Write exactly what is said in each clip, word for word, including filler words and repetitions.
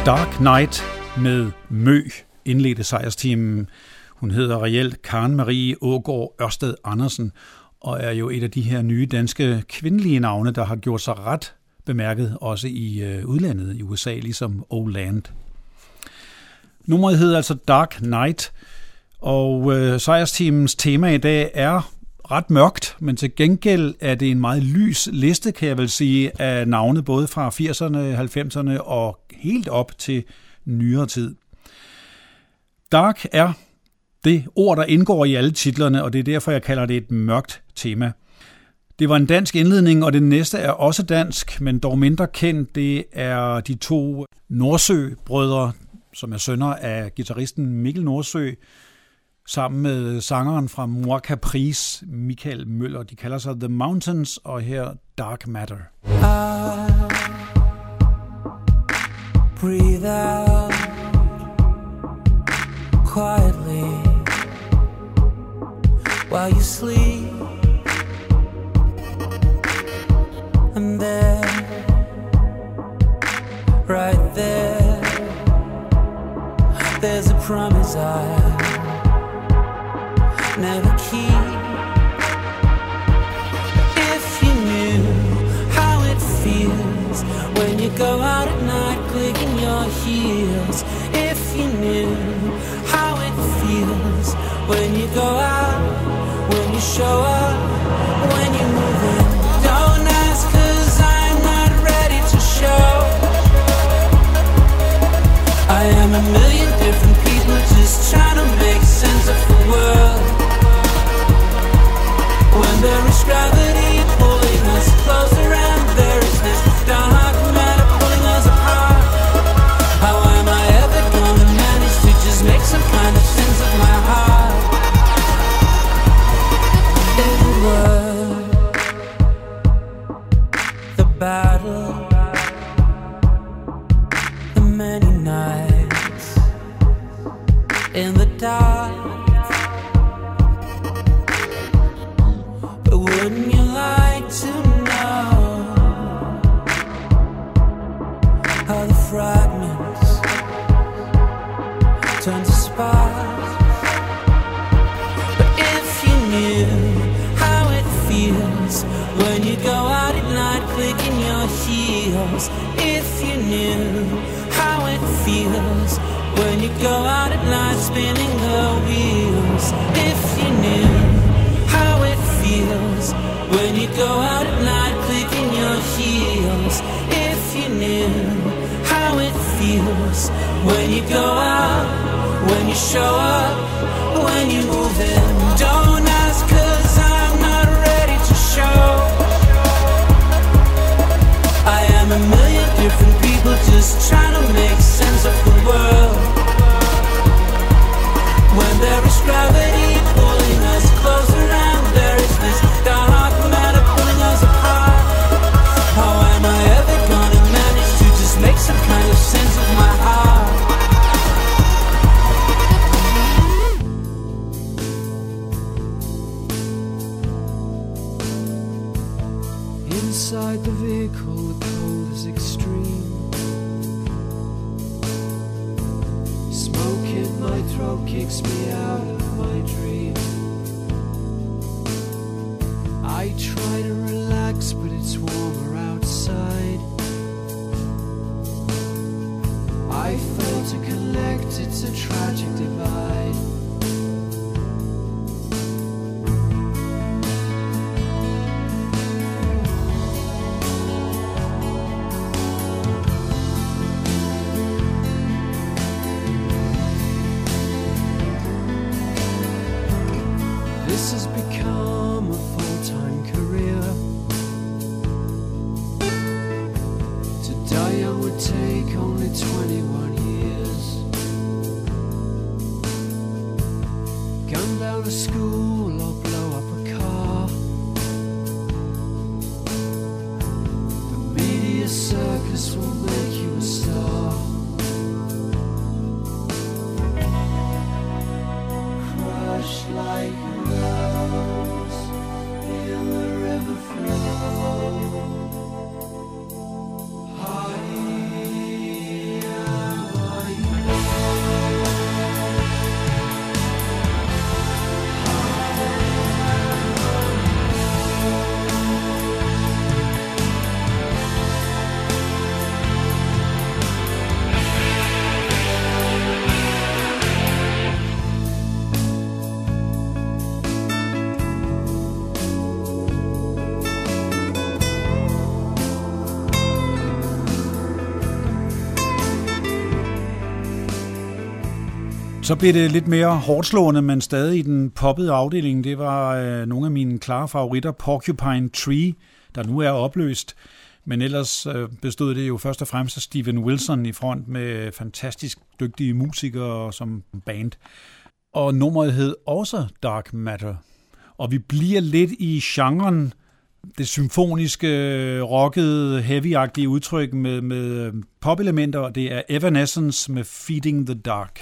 Dark Night med Mø indledte sejrsteamen. Hun hedder reelt Karen Marie Aagaard Ørsted Andersen og er jo et af de her nye danske kvindelige navne, der har gjort sig ret bemærket også i øh, udlandet i U S A, ligesom Old Land. Nummeret hedder altså Dark Night, og øh, sejrsteamens tema i dag er ret mørkt, men til gengæld er det en meget lys liste, kan jeg vel sige, af navne både fra firserne, halvfemserne og helt op til nyere tid. Dark er det ord, der indgår i alle titlerne, og det er derfor, jeg kalder det et mørkt tema. Det var en dansk indledning, og det næste er også dansk, men dog mindre kendt. Det er de to Nordsø-brødre, som er sønner af guitaristen Mikkel Nordsø, sammen med sangeren fra Moi Caprice, Michael Møller. De kalder sig The Mountains, og her Dark Matter. I breathe out quietly while you sleep, and there, right there, there's a promise I never keep. If you knew how it feels when you go out at night clicking your heels. If you knew how it feels when you go out, when you show up, when you move in. Don't ask 'cause I'm not ready to show. I am a million different people just trying to make sense of the world. When there is gravity pulling us closer and there is this dark matter pulling us apart, how am I ever gonna manage to just make some kind of sense of my heart? It would work. The battle, the many nights in the dark. Wouldn't you like to know how the fragments turn to sparks? But if you knew how it feels when you go out at night clicking your heels. If you knew how it feels when you go out at night spinning the wheels. If you knew how it feels when you go out at night clicking your heels. If you knew how it feels when you go out, when you show up, when you move in. Don't ask 'cause I'm not ready to show. I am a million different people just trying to make sense of the world. When there is gravity pulling us closer and there is this dark matter pulling us apart, how am I ever gonna manage to just make some kind of sense of my heart? Inside the vehicle the cold is extreme. Smoke in my throat kicks me out of my dream. I try to relax, but it's warmer outside. I fail to collect, it's a tragic divide. This has become a full-time career. To die young would take only twenty-one years. Gun down a school or blow up a car. The media circus will make you a star. Crushed like a rose in the river flow. High Så blev det lidt mere hårdslående, men stadig i den poppede afdeling. Det var øh, nogle af mine klare favoritter, Porcupine Tree, der nu er opløst. Men ellers øh, bestod det jo først og fremmest af Steven Wilson i front med fantastisk dygtige musikere som band. Og nummeret hed også Dark Matter. Og vi bliver lidt i genren, det symfoniske, rockede, heavy-agtige udtryk med, med pop-elementer, og det er Evanescence med Feeding the Dark.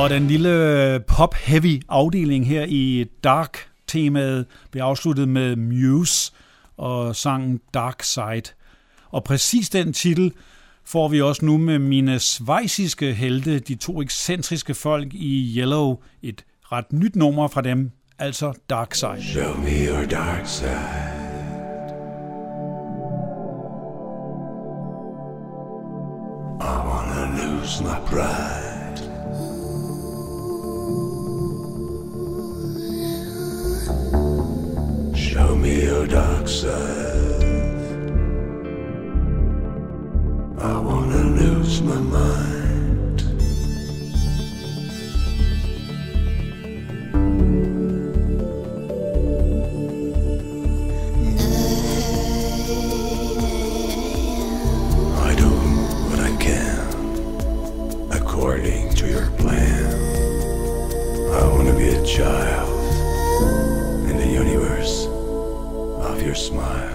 Og den lille pop-heavy afdeling her i Dark-temaet blev afsluttet med Muse og sangen Dark Side. Og præcis den titel får vi også nu med mine schweiziske helte, de to ekscentriske folk i Yellow, et ret nyt nummer fra dem, altså Dark Side. Show me your dark side. I wanna lose my pride. Show me your dark side. I wanna lose my mind. I do what I can according to your plan. I wanna be a child in the universe of your smile.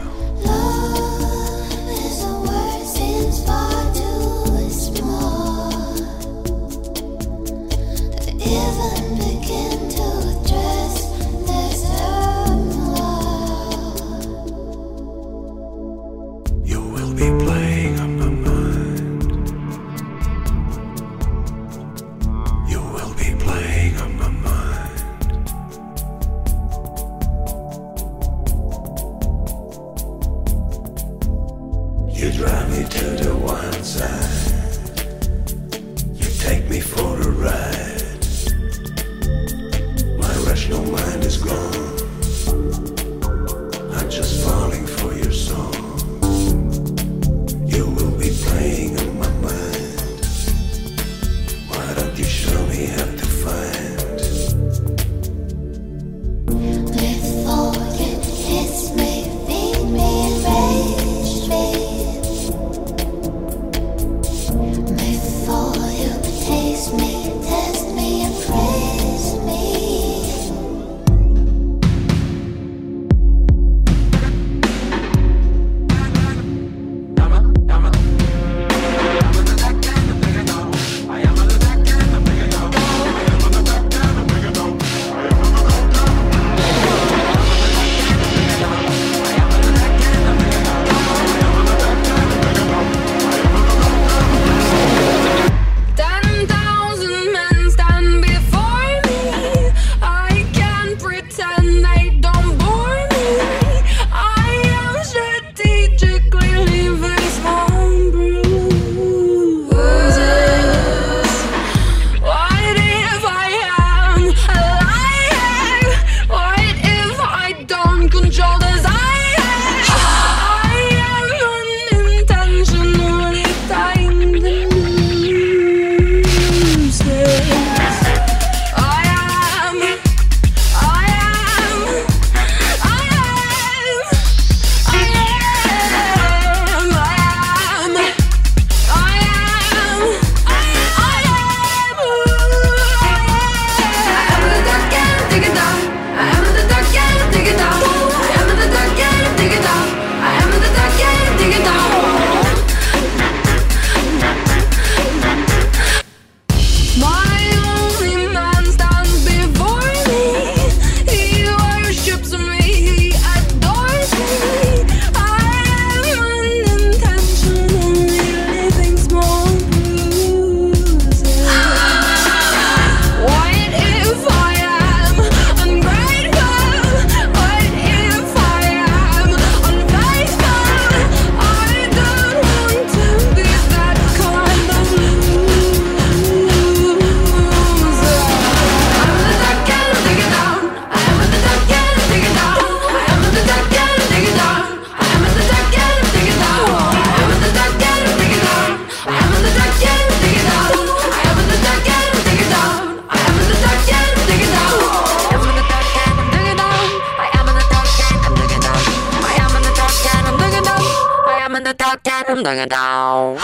down.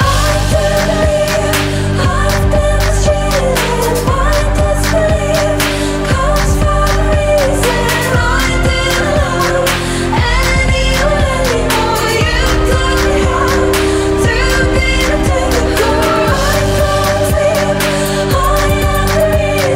I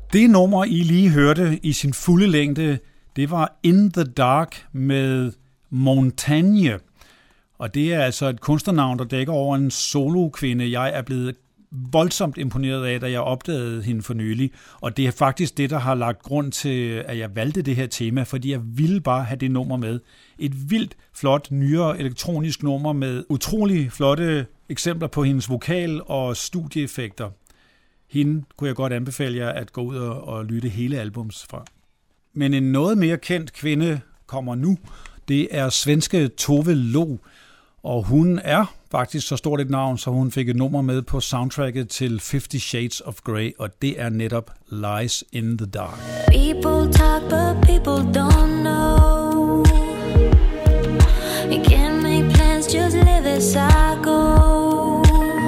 Det nummer, I lige hørte i sin fulde længde, det var In the Dark med Montagne. Og det er altså et kunstnernavn, der dækker over en solokvinde. Jeg er blevet voldsomt imponeret af, da jeg opdagede hende for nylig. Og det er faktisk det, der har lagt grund til, at jeg valgte det her tema, fordi jeg ville bare have det nummer med. Et vildt flot, nyere elektronisk nummer med utrolig flotte eksempler på hendes vokal og studieeffekter. Hende kunne jeg godt anbefale jer at gå ud og, og lytte hele albums fra. Men en noget mere kendt kvinde kommer nu. Det er svenske Tove Lo, og hun er faktisk så stort et navn, så hun fik et nummer med på soundtracket til Fifty Shades of Grey, og det er netop Lies in the Dark. People talk, but people don't know. You can't make plans, just live as I go.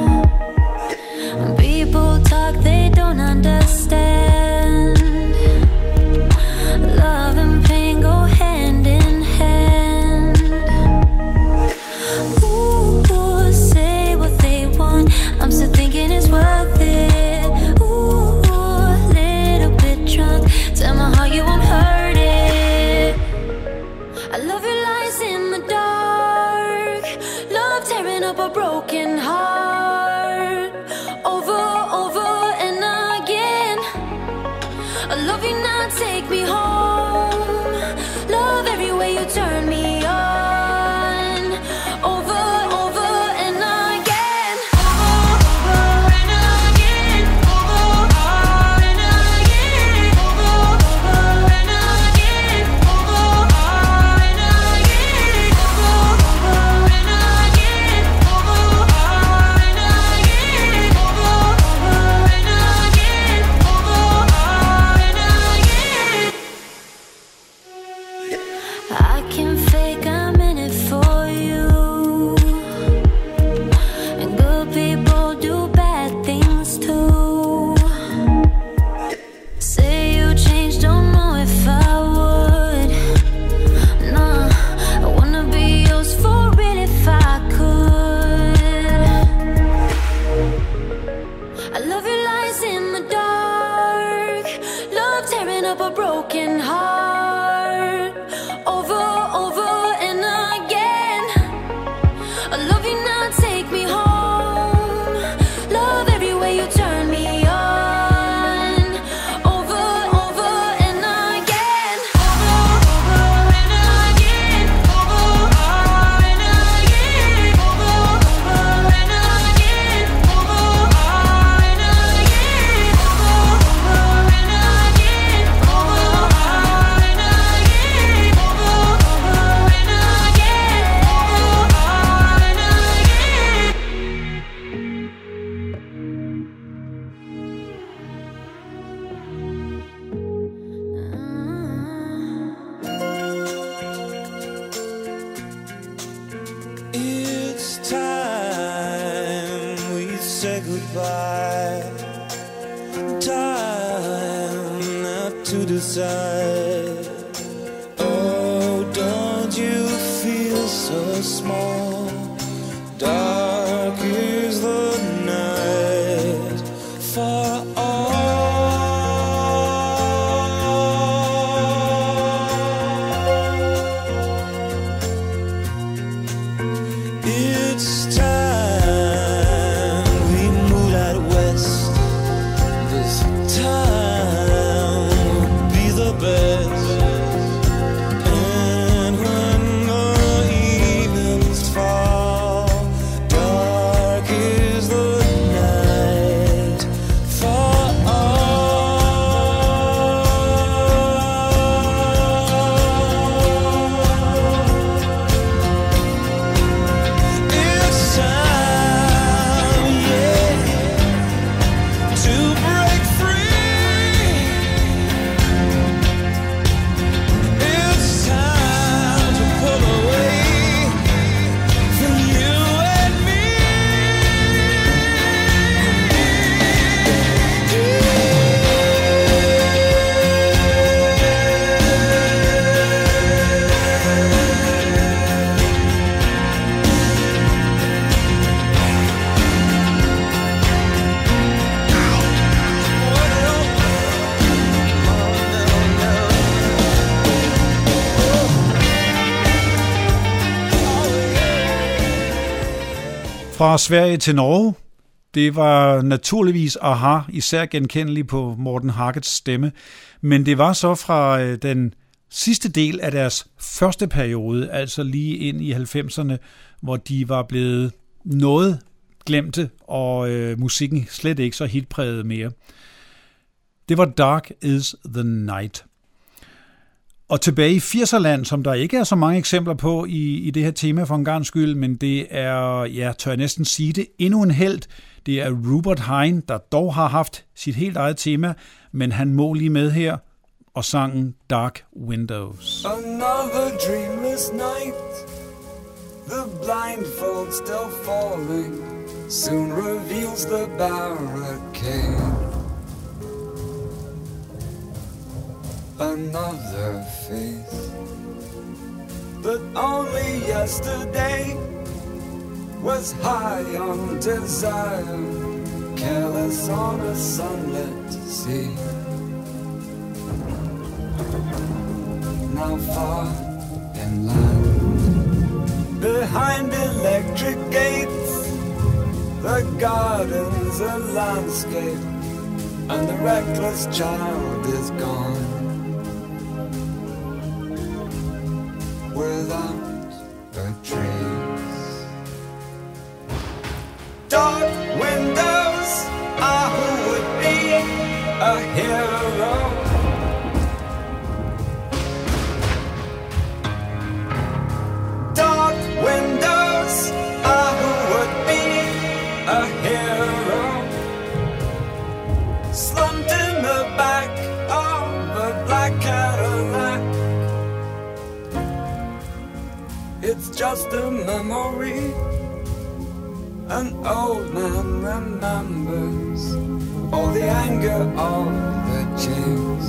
People talk, they don't understand. Love and pain go hand in hand. Ooh, say what they want, I'm still thinking it's worth it. Ooh, little bit drunk, tell my heart you won't hurt it. I love your lies in the dark, love tearing up a broken heart. Over, over and again, I love you now, take me home. Love every way you turn me on. Over, over and again. Over, over and again. Over, over and again. Over, over and again. Over, over and again. Over, over and again. Over, over and again. Over, over and again. Over, over and again. I can fake I'm in it for you, and good people do bad things too. Say you changed, don't know if I would. Nah, I wanna be yours for real if I could. I love your lies in the dark, love tearing up a broken heart. Over, over and again, I love you now, take me home. Love every way you turn me on. Over, over and again. Over, over and again. Over, over and again. Over, over and again. Over, over and again. Over, over and again. Over, over and again. Over, over and again. Over, over and again. It's time we say goodbye. Time not to decide. Oh, don't you feel so small? Dark is the night for all. It's time we moved out west. This time will be the best. And when the evenings fall Fra Sverige til Norge, det var naturligvis Aha, især genkendelig på Morten Harkets stemme, men det var så fra den sidste del af deres første periode, altså lige ind i halvfemserne, hvor de var blevet noget glemte, og øh, musikken slet ikke så hitpræget mere. Det var Dark is the Night. Og tilbage i firserland, som der ikke er så mange eksempler på i, i det her tema for en gang skyld, men det er, ja, tør jeg næsten sige det, endnu en helt. Det er Rupert Hine, der dog har haft sit helt eget tema, men han må lige med her og sangen Dark Windows. Another dreamless night, the blindfold still falling, soon reveals the barricade. Another face that only yesterday was high on desire, careless on a sunlit sea. Now far inland, behind electric gates, the garden's a landscape, and the reckless child is gone. Without a trace. Dark windows are who would be a hero. Dark windows are who would be a hero. Slumped in the back of a black Cadillac. It's just a memory. An old man remembers all the anger of the chase,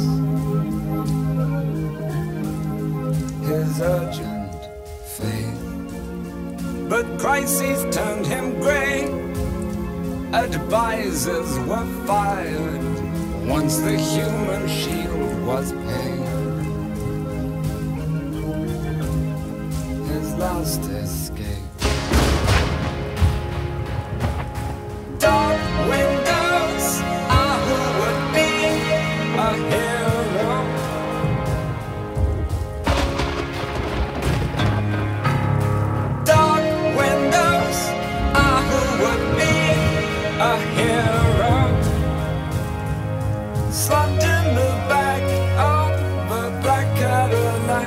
his urgent faith. But crises turned him grey. Advisors were fired once the human shield was paid. Last escape. Dark windows are who would be a hero. Dark windows are who would be a hero. Slumped in the back of a black Cadillac.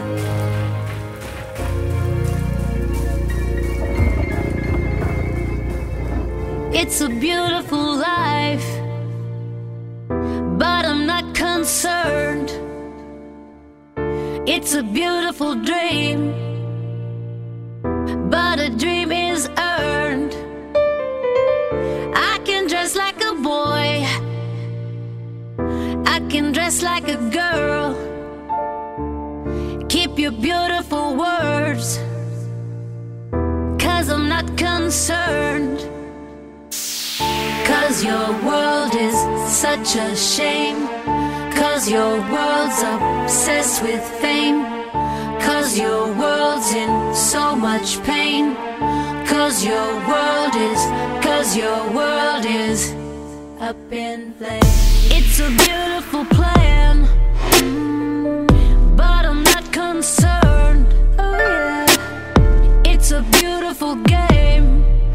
It's a beautiful life, but I'm not concerned. It's a beautiful dream, but a dream is earned. I can dress like a boy, I can dress like a girl. Keep your beautiful words, 'cause I'm not concerned. 'Cause your world is such a shame. 'Cause your world's obsessed with fame. 'Cause your world's in so much pain. 'Cause your world is, 'cause your world is up in flames. It's a beautiful plan, but I'm not concerned. Oh yeah. It's a beautiful game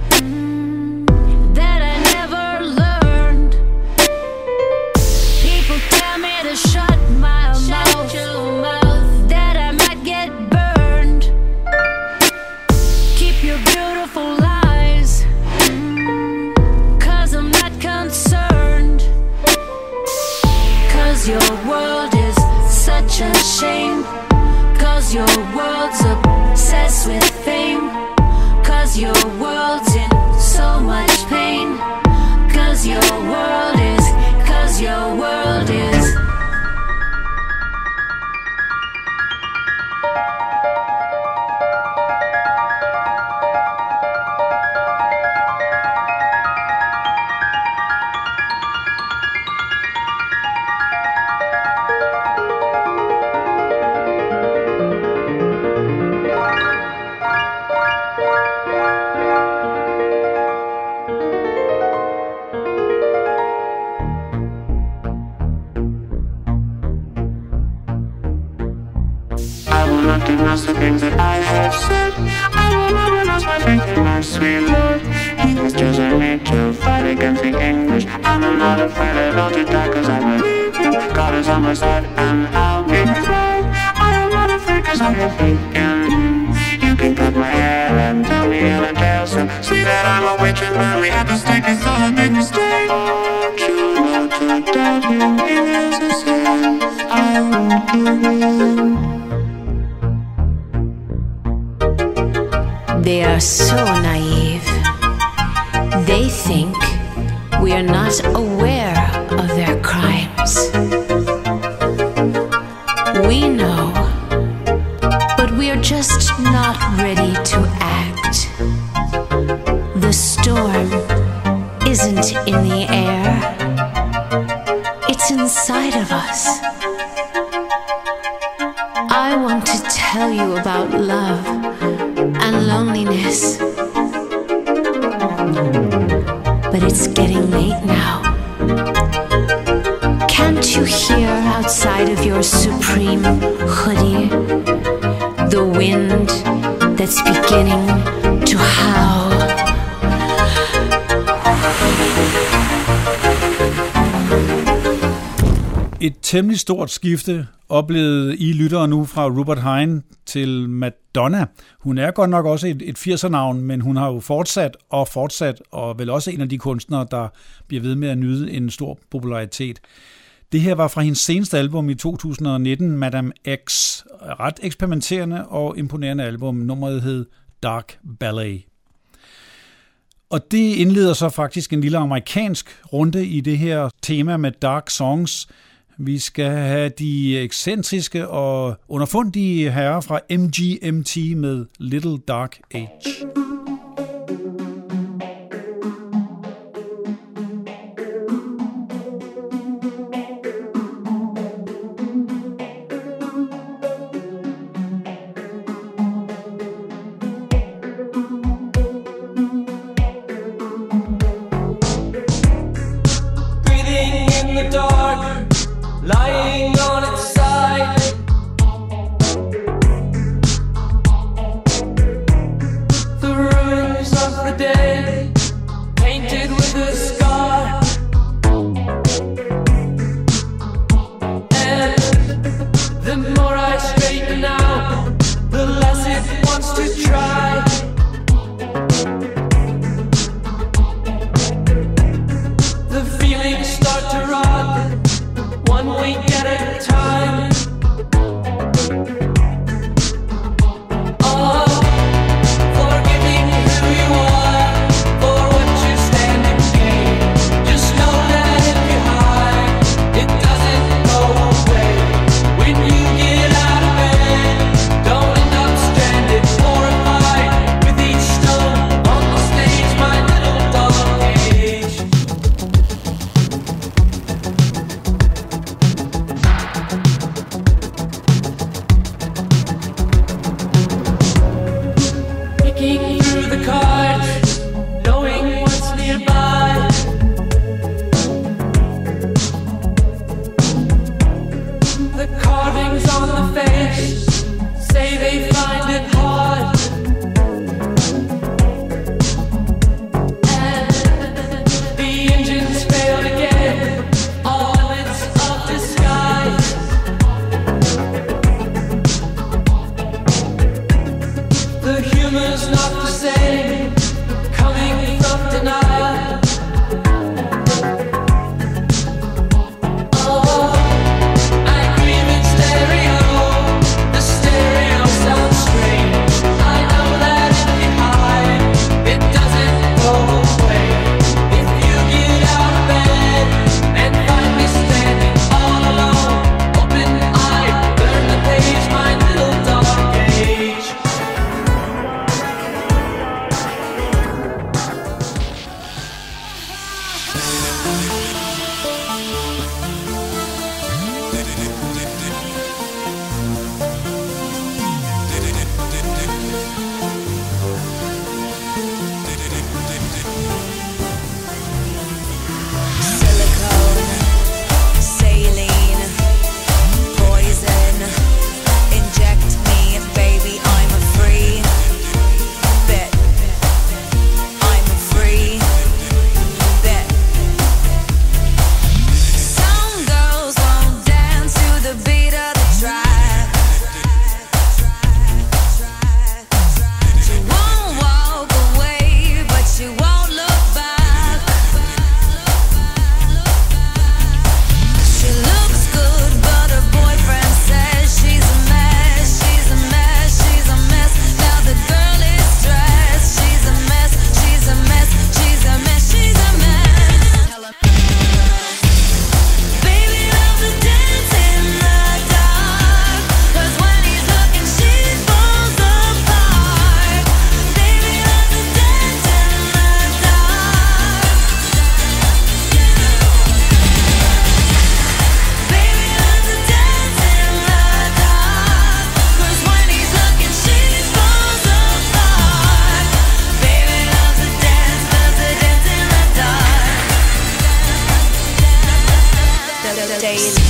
that I never learned. People tell me to shut my mouth, mouth, that I might get burned. Keep your beautiful lies, 'cause I'm not concerned. 'Cause your world is such a shame. 'Cause your world's obsessed with fame. 'Cause your world's in so much pain. 'Cause your world is, 'cause your world is. pronounce the things that I have said. I will not pronounce my things in my sweet Lord. It's just I need to fight against the English. I'm not afraid at all to die, cause I believe God is on my side and I'll be fine. I am not afraid cause I have faith in Him. You can cut my hair and tell me in a tale, so see that I'm a witch and but we have to stay cause I make a mistake. Don't you know to doubt me is a sin? I won't do. They are so naive. They think we are not aware of their crimes. We know, but we are just not ready to act. The storm isn't in the air, it's inside of us. I want to tell you about love and loneliness, but it's getting late now. Can't you hear outside of your supreme hoodie the wind that's beginning to howl? Et temmelig stort skifte oplevede I lyttere nu fra Rupert Hine til Madonna. Hun er godt nok også et, et firser-navn, men hun har jo fortsat og fortsat, og vel også en af de kunstnere, der bliver ved med at nyde en stor popularitet. Det her var fra hendes seneste album i to tusind nitten, Madame X. Ret eksperimenterende og imponerende album. Nummeret hed Dark Ballet. Og det indleder så faktisk en lille amerikansk runde i det her tema med dark songs. Vi skal have de ekscentriske og underfundige herrer fra M G M T med Little Dark Age. Lying on its side, the ruins of the day, painted with a scar. And the more I straighten out, the less it wants to try. The feelings start to rot, one week at a time. Oh, forgiving who you are for what you stand to gain. Just know that if you hide, it doesn't go away. When you get out of bed, don't end up stranded, horrified with each stone on the stage, my little dark age. Picking through the cards, knowing what's nearby. The carvings on the face say they find it hard. And the engines failed again, all limits of disguise. The humor's not the same, coming from denial. Oh, I grieve in stereo, the stereo sounds strange. I know that if you hide, it doesn't go away. If you get out of bed and find me standing all alone, open-eyed, turn the page, my little dark age. Silicone, saline, poison. Inject me, baby, daily.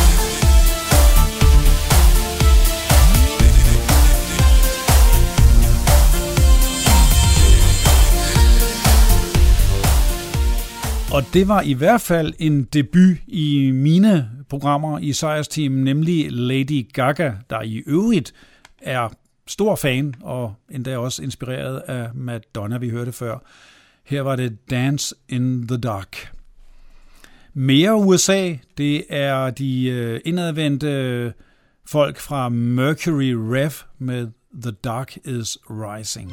Og det var i hvert fald en debut i mine programmer i sejrsteamen, nemlig Lady Gaga, der i øvrigt er stor fan og endda også inspireret af Madonna, vi hørte før. Her var det Dance in the Dark. Mere U S A, det er de indadvendte folk fra Mercury Rev med The Dark is Rising.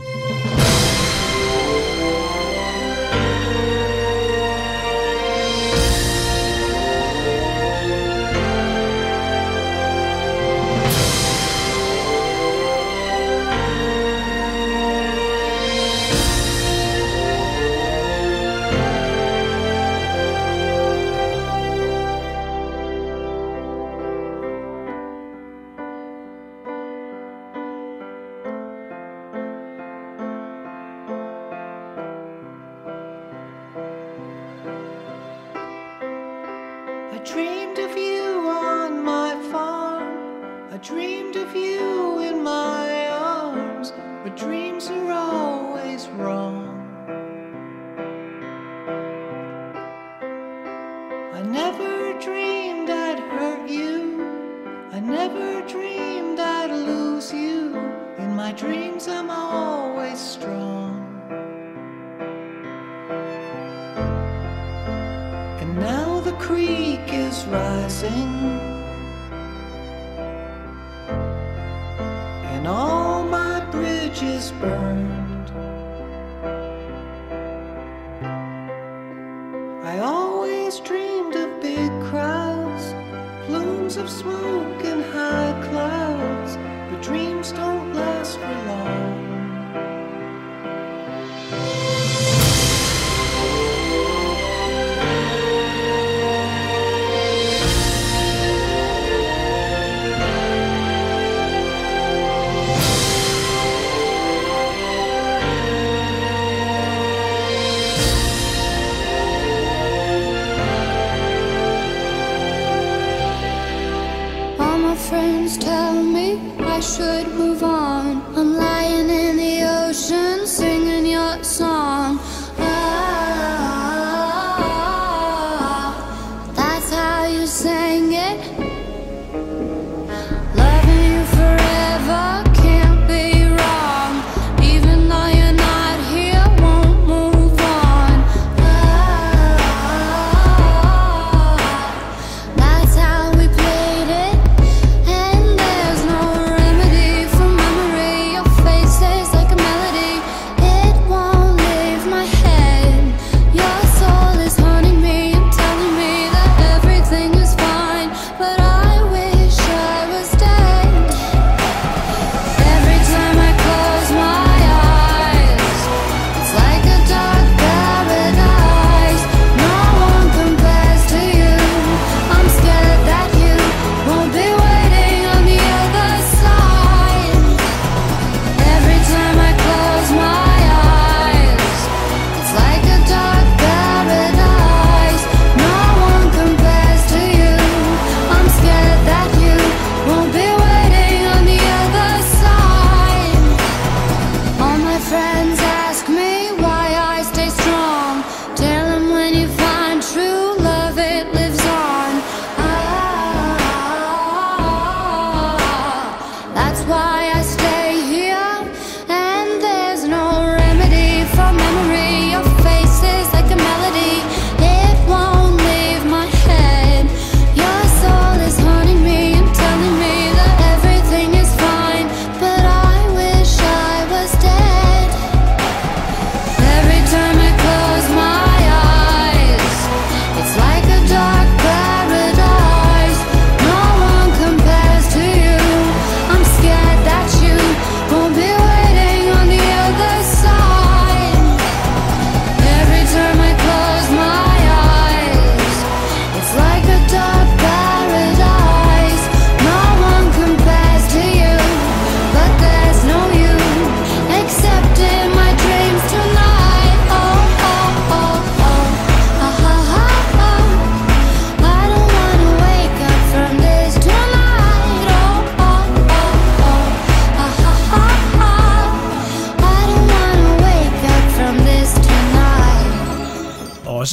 Dreamed of you on my farm, I dreamed of you in my arms, but dreams are always wrong. I never dreamed I'd hurt you, I never dreamed I'd lose you. In my dreams I'm always strong. And now the creek is rising, and all my bridges burned. I always dreamed of big crowds, plumes of smoke and high clouds, but dreams don't last for long. Friends tell me I should move on. I'm lying in the ocean singing your song. Ah, that's how you sang it. Loving you forever can't be wrong. Even though you're not here, won't move on. Ah, that's how we played it. My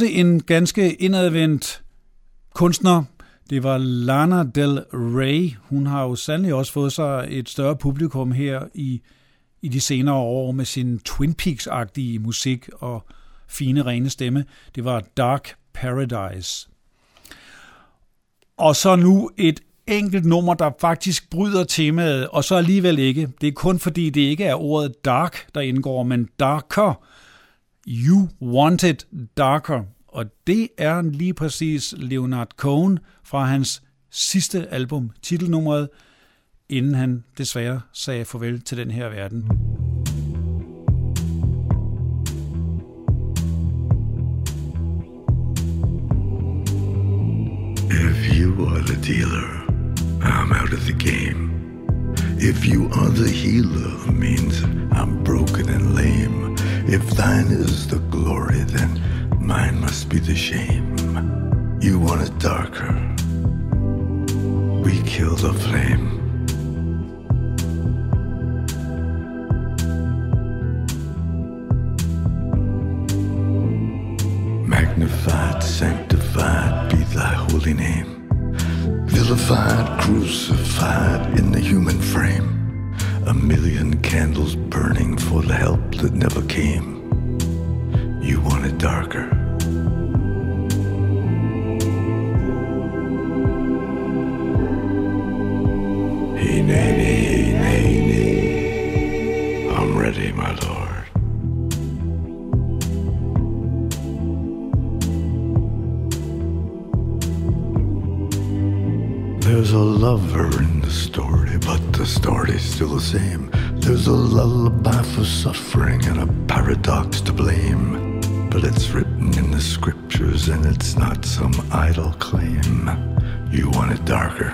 også en ganske indadvendt kunstner. Det var Lana Del Rey. Hun har jo sandelig også fået sig et større publikum her i, i de senere år med sin Twin Peaks-agtige musik og fine, rene stemme. Det var Dark Paradise. Og så nu et enkelt nummer, der faktisk bryder temaet, og så alligevel ikke. Det er kun fordi, det ikke er ordet dark, der indgår, men darker. You Want It Darker. Og det er lige præcis Leonard Cohen fra hans sidste album, titelnummeret, inden han desværre sagde farvel til den her verden. If you are the dealer, I'm out of the game. If you are the healer, means I'm broken and lame. If thine is the glory, then mine must be the shame. You want it darker, we kill the flame. Magnified, sanctified be thy holy name. Vilified, crucified in the human frame. A million candles burning for the help that never came. You want it darker. Hey, nay, nay, nay, nay. I'm ready, my lord. There's a lover in the story, but the story's still the same. There's a lullaby for suffering and a paradox to blame. But it's written in the scriptures and it's not some idle claim. You want it darker,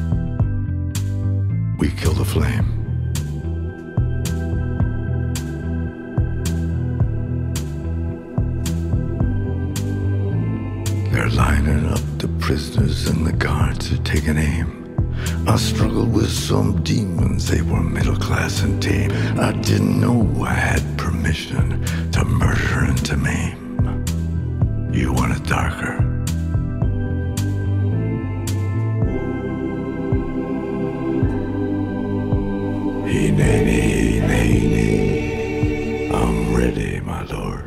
we kill the flame. They're lining up the prisoners and the guards are taking aim. I struggled with some demons, they were middle class and tame. I didn't know I had permission to murder and to maim. You want it darker, hey, nay, nay, nay, nay. I'm ready, my lord.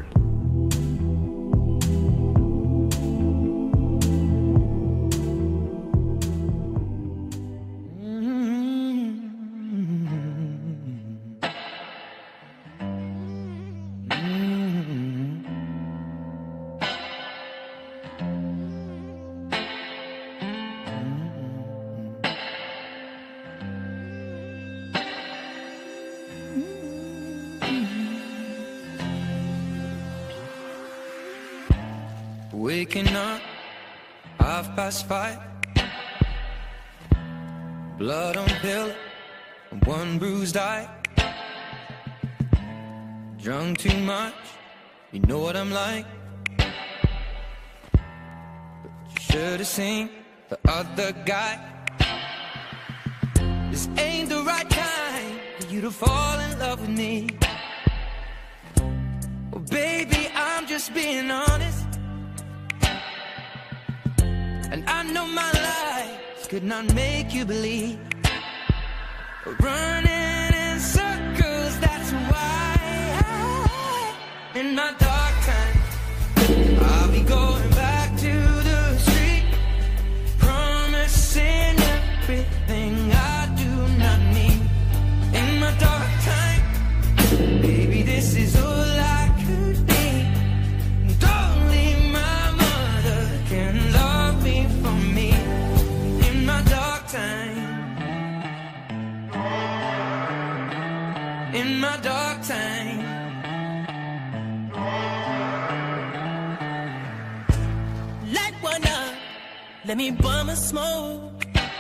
Waking up, half past five. Blood on pillow, one bruised eye. Drunk too much, you know what I'm like. But you should have seen the other guy. This ain't the right time for you to fall in love with me. Well, baby, I'm just being honest. And I know my lies could not make you believe. Running in circles, that's why I, in my dark time, I'll be going back to the street, promising everything I do not need. In my dark time, baby, this is all I could be. And only my mother can love me for me. In my dark time, in my dark time, light one up, let me bum a smoke.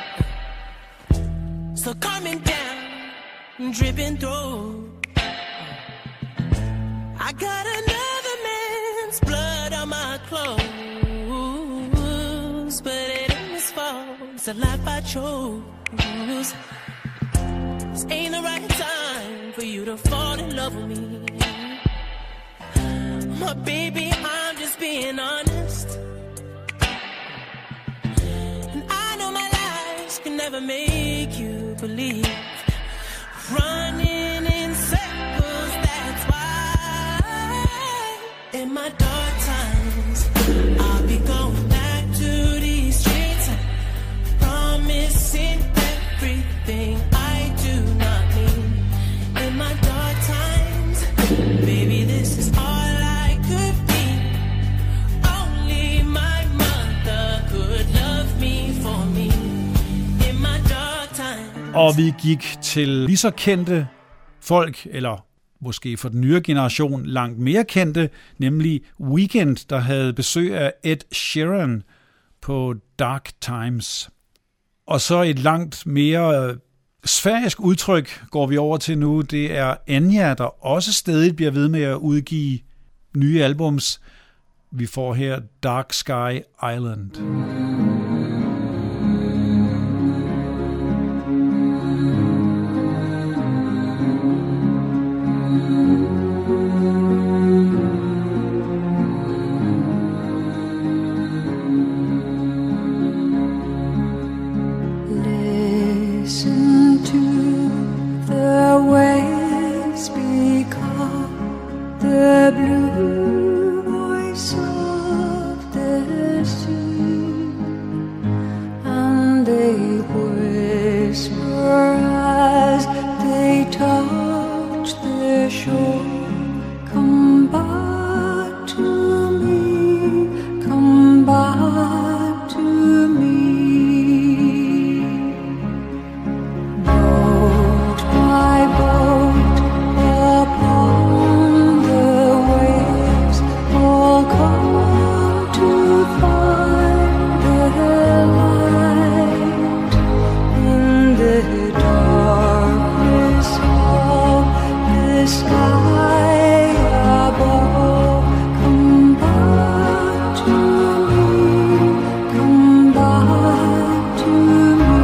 So coming down, dripping through. I got another man's blood on my clothes, but it ain't his fault, it's a life I chose. This ain't the right time for you to fall in love with me. My baby, I'm just being honest. never make you believe. Running in circles, that's why. In my dark times, I'll be going back to these streets, promising everything I do not need. In my dark times, baby, this is all I could be. Only my mother could love me for me. In my dark times. Og vi gik til lige så kendte folk, eller måske for den nye generation langt mere kendte, nemlig Weeknd, der havde besøg af Ed Sheeran på Dark Times. Og så et langt mere sfærisk udtryk går vi over til nu. Det er Enya, der også stadig bliver ved med at udgive nye albums. Vi får her Dark Sky Island. Listen to the waves become the blue voice of the sea, and they whisper as they touch the shore, come back to me, come back to me. Boat by boat upon the waves, all come to find the light in the darkness of the sky above. Come back to me, come back to me.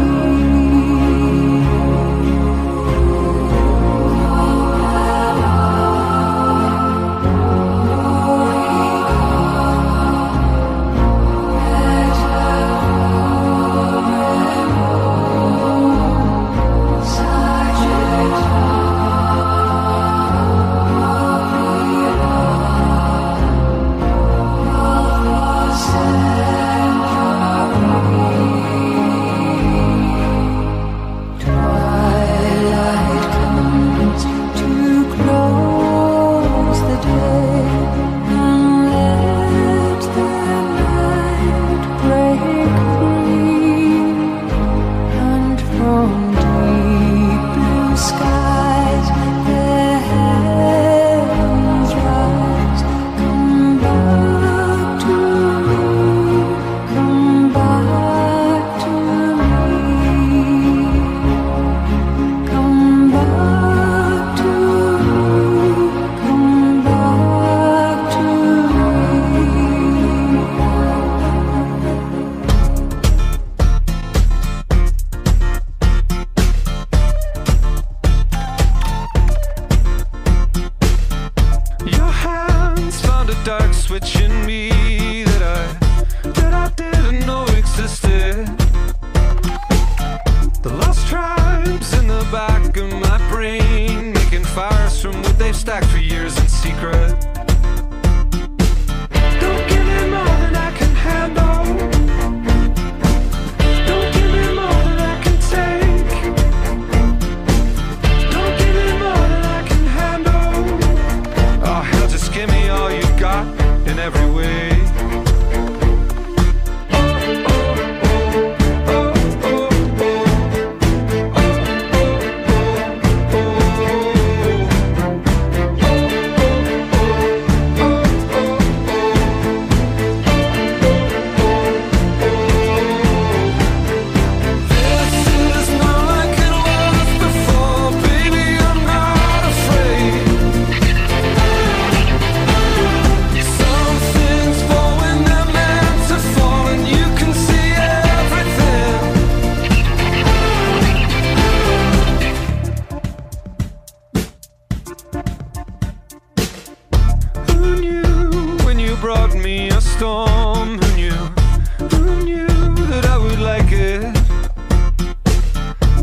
Twilight comes to close the day, and let the night break free, and from deep blue skies the heavens rise. Come back to me, come back to me. Come back to me, come back to me. Your hands found a dark switch in me that I that I didn't know existed. The lost tribes in the back of my brain, making fires from wood they've stacked for years in secret. Don't give me more than I can handle. Don't give me more than I can take. Don't give me more than I can handle. Oh hell, just give me all you got in every way. Oh,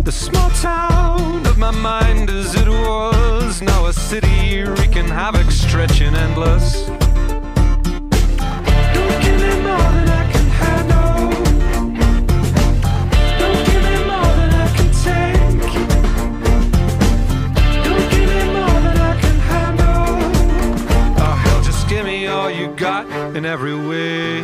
The small town of my mind as it was, now a city wreaking havoc, stretching endless. Don't give me more than I can handle. Don't give me more than I can take. Don't give me more than I can handle. Oh hell, just give me all you got in every way.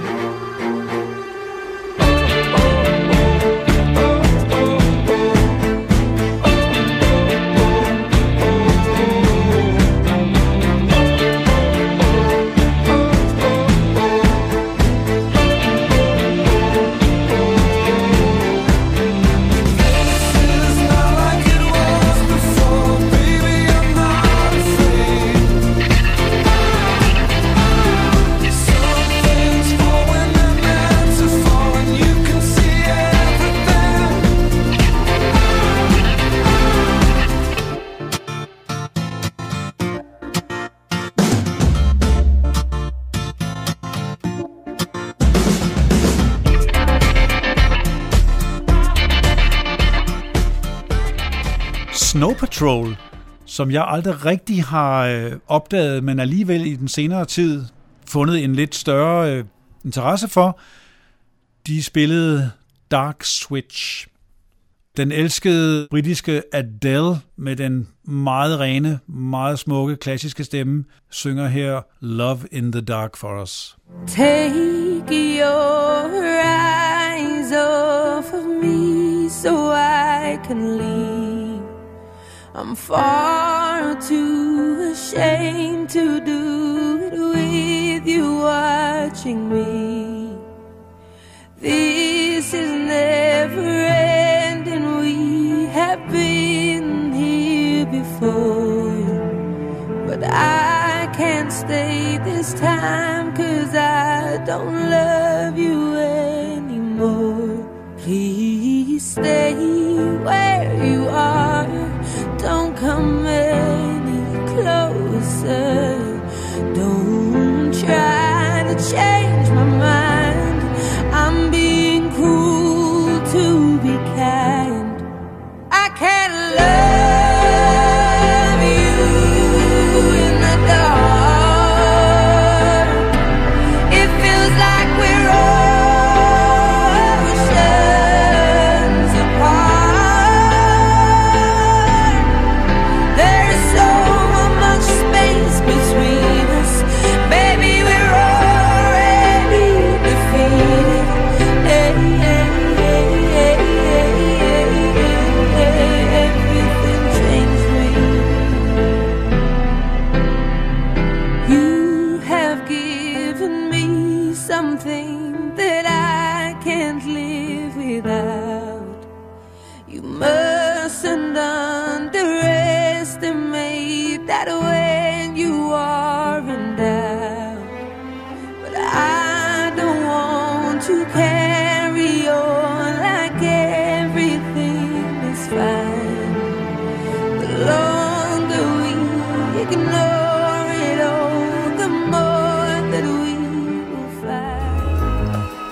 Snow Patrol, som jeg aldrig rigtig har øh, opdaget, men alligevel i den senere tid fundet en lidt større øh, interesse for. De spillede Dark Switch. Den elskede britiske Adele med den meget rene, meget smukke, klassiske stemme, synger her Love in the Dark for os. Take your eyes off of me so I can leave. I'm far too ashamed to do it with you watching me. This is never ending, we have been here before. But I can't stay this time, 'cause I don't love you anymore. Please stay where you are, don't come any closer. Don't try to change my mind, I'm being cruel to be kind. I can't love you in the dark. It feels like we're oceans apart. There's so much space between us. Baby, we're already defeated. Hey, hey, hey, hey, hey, hey, hey, everything changed me. You have given me something that I can't live without. You mustn't underestimate that when you are in doubt. But I don't want to carry on like everything is fine. The longer we ignore it all, the more that we will find.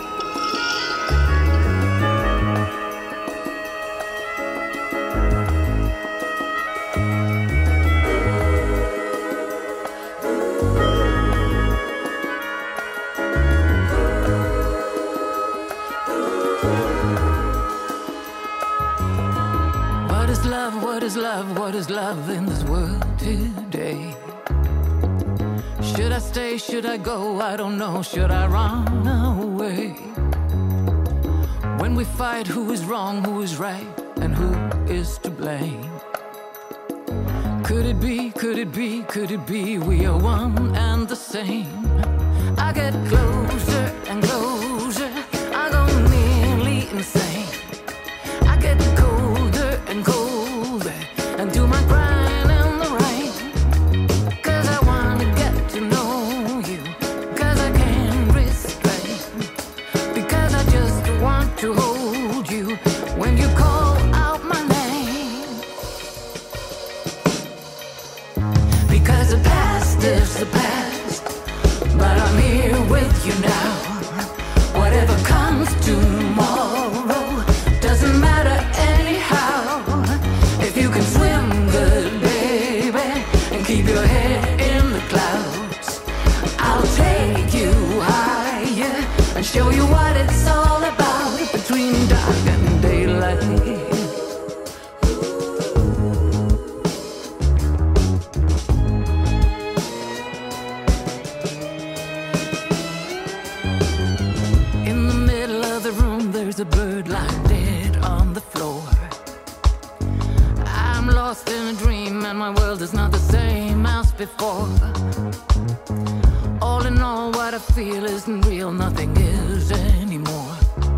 What is love? What is love? What is love in this world today? Should I stay? Should I go? I don't know. Should I run away? When we fight, who is wrong, who is right, and who is to blame? Could it be, could it be, could it be we are one and the same? I get closer and closer, I go nearly insane. I get colder and colder, and do my crying in the rain. 'Cause I wanna get to know you, 'cause I can't restrain. Because I just want to hold you when you call out my name. Because the past is the past, but I'm here with you now. Whatever comes tomorrow doesn't matter anyhow. what it's all about between dark and daylight. In the middle of the room, there's a bird lying dead on the floor. I'm lost in a dream and my world is not the same as before. All in all, what I feel isn't real, nothing is anymore.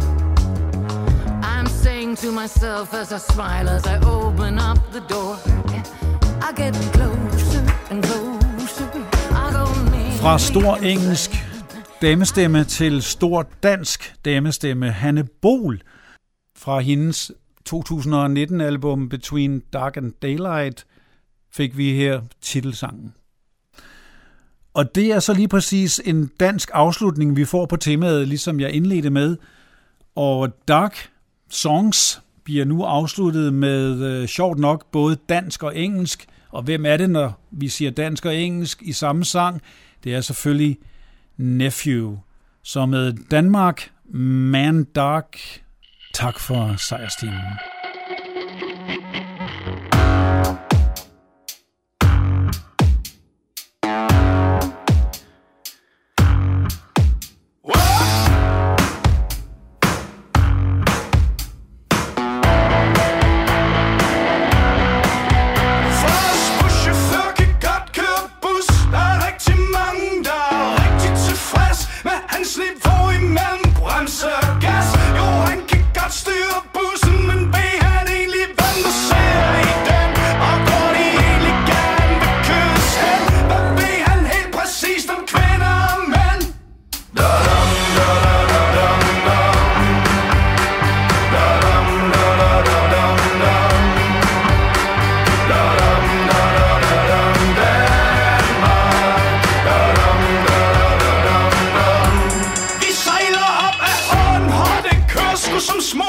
I'm saying to myself as I smile, as I open up the door, I get closer and closer, I go near. Fra stor engelsk damestemme til stor dansk damestemme, Hanne Bol, fra hendes to tusind og nitten album Between Dark and Daylight, fik vi her titelsangen. Og det er så lige præcis en dansk afslutning, vi får på temaet, ligesom jeg indledte med. Og Dark Songs bliver nu afsluttet med, øh, sjovt nok, både dansk og engelsk. Og hvem er det, når vi siger dansk og engelsk i samme sang? Det er selvfølgelig Nephew. Så med Danmark, Man Dark. Tak for sejrstimen. Some small